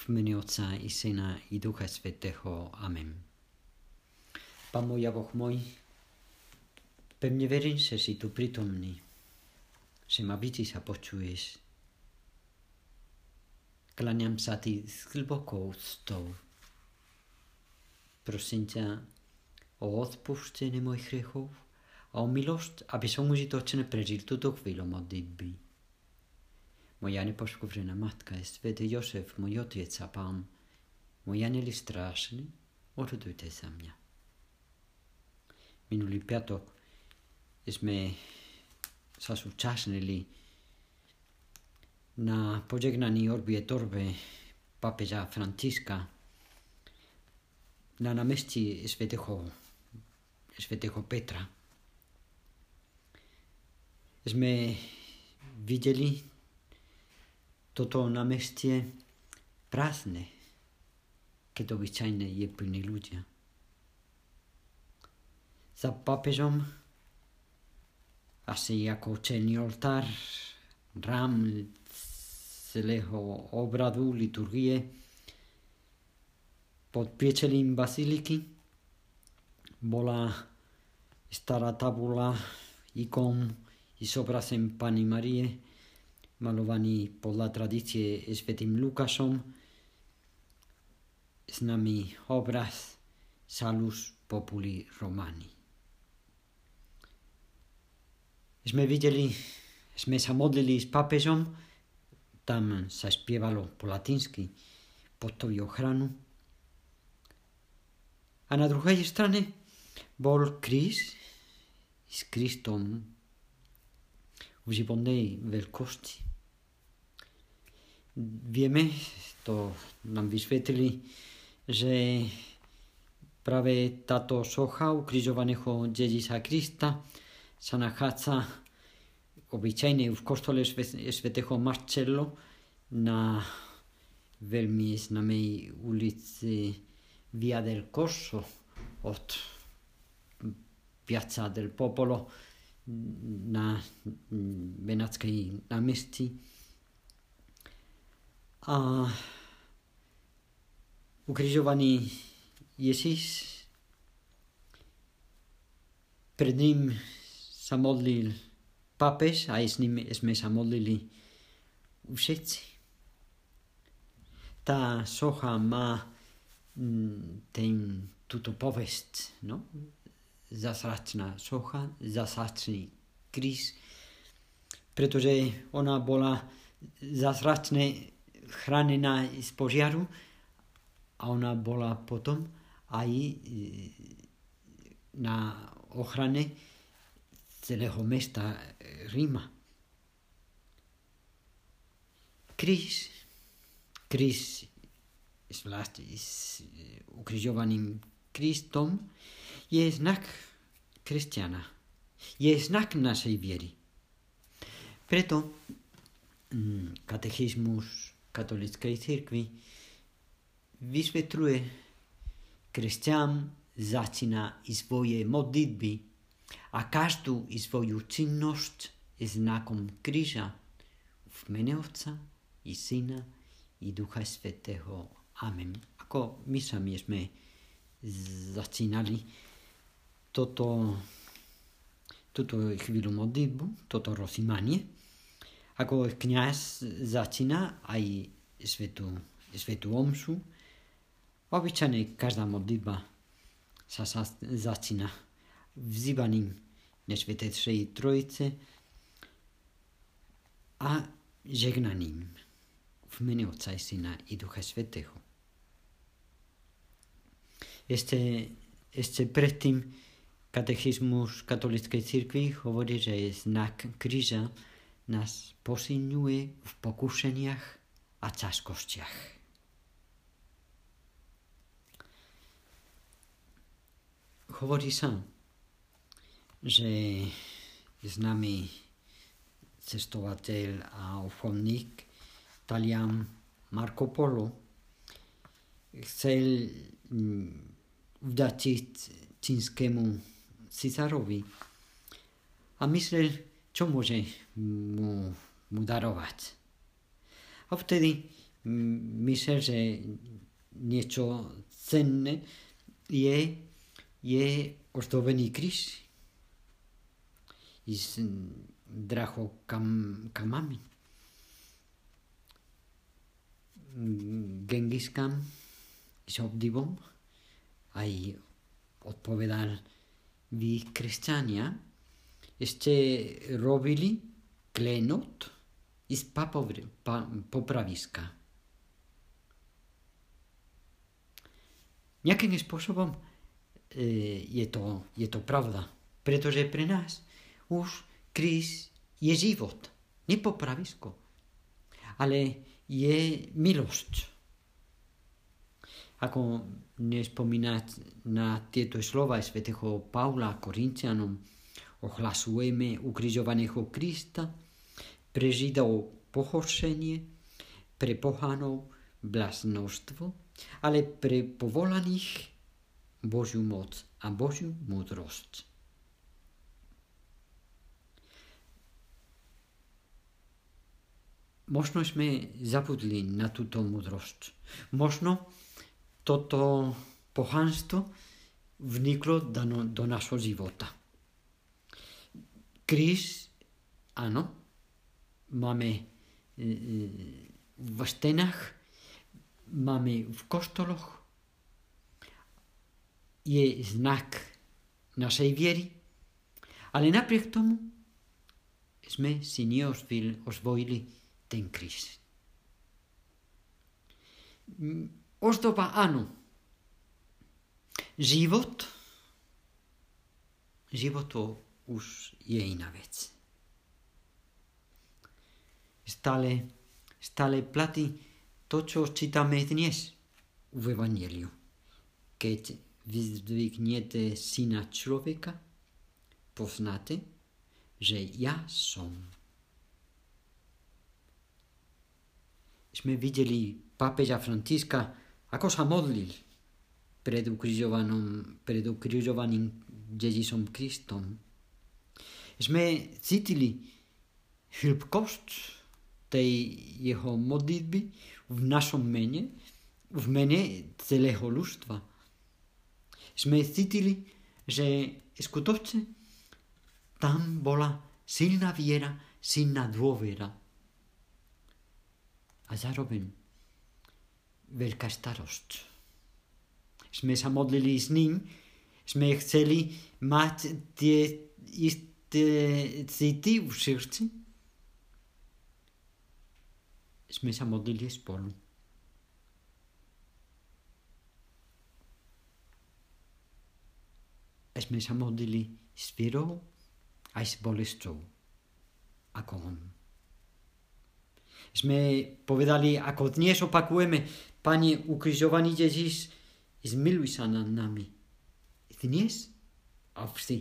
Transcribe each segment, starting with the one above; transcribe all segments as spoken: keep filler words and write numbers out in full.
V mene Otca i Syna i Ducha Svätého. Amen. Pán môj a Boh môj, pevne verím, že si tu prítomný, že ma vidíš a počuješ. Kláňam sa ti s hlbokou úctou. Prosím ťa o odpustenie mojich hriechov a o milosť, aby som užitočne prežil túto chvíľu modlitby. Moja nepoškvrnená matka je svätý Jozef, môj otec a Pán, môj anjeli strážny, orodujte za mňa. Minulý piatok sme sa zúčastnili na požehnaní Urbi et Orbe pápeža Františka na námestí svätého, svätého Petra. Sme videli toto námestie prázdne, keď obyčajne je plný ľudia. Za pápežom asi ako čelný oltár, rám celého obradu, liturgie, pod priečelím baziliky bola stará tabula ikon i s obrazem Panny Marie, malovaný podľa tradície svätým Lukášom, známy obraz Salus Populi Romani. Sme videli, sme sa modlili s pápežom, tam sa spievalo po latinsky pod tou ochranu. A na druhej strane bol kríž s Kristom v životnej veľkosti. Vieme, to nám vysvetlili, že práve táto socha ukrižovaného Ježíša Krista sa nachádza obyčajne v kostole svätého Marcello na veľmi známej ulici Via del Corso od Piazza del Popolo na Benátskej námestí. A ukrižovaný Ježíš, pred ním sa modlil pápež a s ním sme sa modlili všetci. Tá socha má ten, túto povesť, no? Zázračná socha, zázračný kríž, pretože ona bola zázračne chránená z požiaru a ona bola potom aj na ochrane celého mesta Ríma. Kríž, kríž zvlášť s ukrižovaným Kristom je znak kresťana, je znak našej viery. Preto katechizmus katolíckej cirkvi vysvetľuje, kresťan začína i svoje modlitby a každú i svoju činnosť znakom kríža v mene Otca i Syna i Ducha Svätého. Amen. Ako my sami sme začínali toto, túto chvíľu modlitbu, toto rozjímanie, ako kňaz začína aj svätú, svätú omšu. Obyčajne každá modlitba sa, sa začína vzývaním Nesvätejšej Trojice a žegnaním v mene Otca i Syna i Ducha Svätého. Ešte, ešte predtým katechizmus katolíckej cirkvi hovorí, že znak kríža nás posilňuje v pokušeniach a ťažkostiach. Hovorí sa, že známy cestovateľ a obchodník Talian Marco Polo chcel vďačiť čínskemu cisárovi a myslel, čo môže mu, mu darovať. A vtedy myslím, že niečo cenné je, je ozdobený kríž s drahokamami. Genghis Khan s obdivom aj odpovedal, vy kresťania ešte robili klenot z popraviska. Nejakým spôsobom je to, je to pravda, pretože pre nás už kríž je život, nie popravisko, ale je milosť. Ako nespomínať na tieto slova svätého Pavla Korintianom, ohlasujeme ukrižovaného Krista, pre Židov pohoršenie, pre pohanov bláznostvo, ale pre povolaných Božiu moc a Božiu múdrosť. Možno sme zabudli na túto múdrosť. Možno toto pohanstvo vniklo do, do našho života. Kríž, áno, máme v stenách, máme v kostoloch, je znak našej viery, ale napriek tomu sme si neosvojili ten kríž. Ozdoba áno. Život, život to už je iná vec. Stále, stále platí to, čo čítame dnes v Evangeliu. Keď vyzdvihnete syna človeka, poznáte, že ja som. Sme videli pápeža Františka, ako sa modlil pred ukrižovaným, pred ukrižovaným Ježišom Kristom. Sme cítili hĺbkosť tej jeho modlitby v našom mene, v mene celého ľudstva. Sme cítili, že skutočne tam bola silná viera, silná dôvera. A zároveň veľká starosť. Sme sa modlili s ním, sme chceli mať tie isté city v srdci. Sme sa modlili spolu. A sme sa modlili s vierou aj s bolesťou, ako on. Sme povedali, ako dnes opakujeme, Pane, ukrižovaný Ježiš, zmiluj sa nad nami. Dnes a vždy.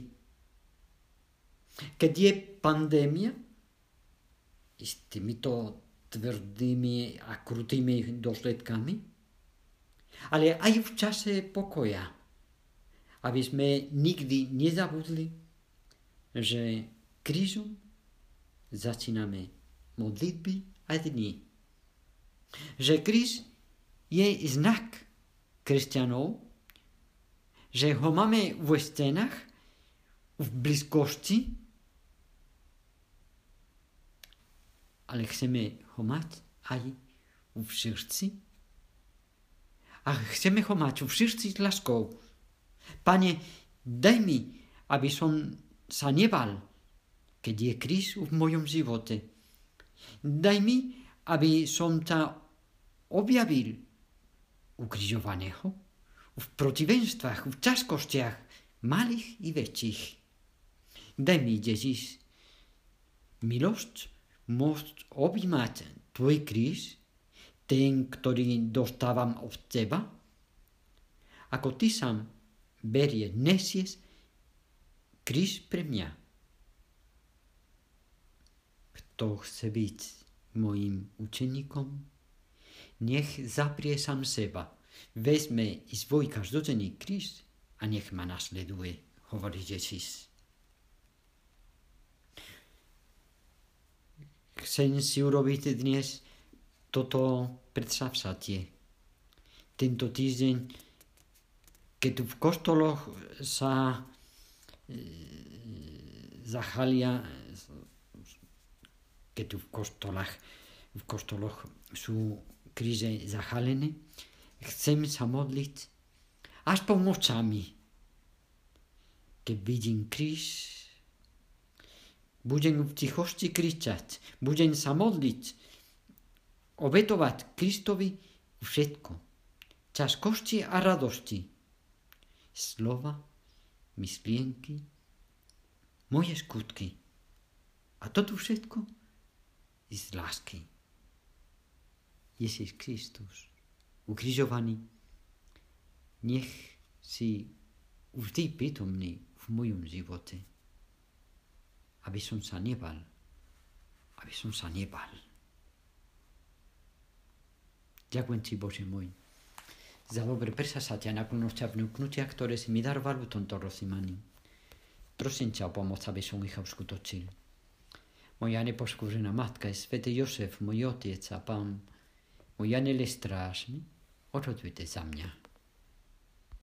Keď je pandémia, s týmito tvrdými a krutými dôsledkami, ale aj v čase pokoja, aby sme nikdy nezabudli, že krížom začíname modlitby a dni. Že kríž je znak kresťanov, že ho máme v stenách, v blízkosti, ale chceme ho mať aj v srdci. A chceme ho mať v srdci s láskou. Pane, daj mi, aby som sa nebal, keď je kríž v mojom živote. Daj mi, aby som ťa objavil ukrižovaného v protivenstvách, v ťažkostiach, malých i väčších. Daj mi, Ježiš, milosť môcť objímať tvoj kríž, ten, ktorý dostávam od teba, ako ty sám berie, nesieš kríž pre mňa. Kto chce byť mojim učeníkom, nech zaprie sám seba, vezme i svoj každodenný kríž a nech ma nasleduje, hovorí Ježiš. Chcem si urobiť dnes toto predstav sa tie. Tento týždeň, keď tu v kostoloch sa e, zachalia, keď tu v kostolách, v kostoloch sú kríže zachalené, chcem sa modliť aspoň nočami. Keď vidím kríž, budem v tichosti kričať, budem sa modliť, obetovať Kristovi všetko. Ťažkosti a radosti, slova, myšlienky, moje skutky. A toto všetko je z lásky. Ježiš Kristus, ukrižovaný, nech si vždy prítomný v mojom živote, aby som sa nebal, aby som sa nebal. Ďakujem ti, Bože môj, za dobre presasatia a naklonosť a vnúknutia, ktoré si mi daroval v tomto rozjímaní. Prosím ťa o pomoc, aby som ich uskutočil. Moja nepoškvrnená matka je svätý Jozef, môj otec a pán, môj anjel strážny, orodujte za mňa.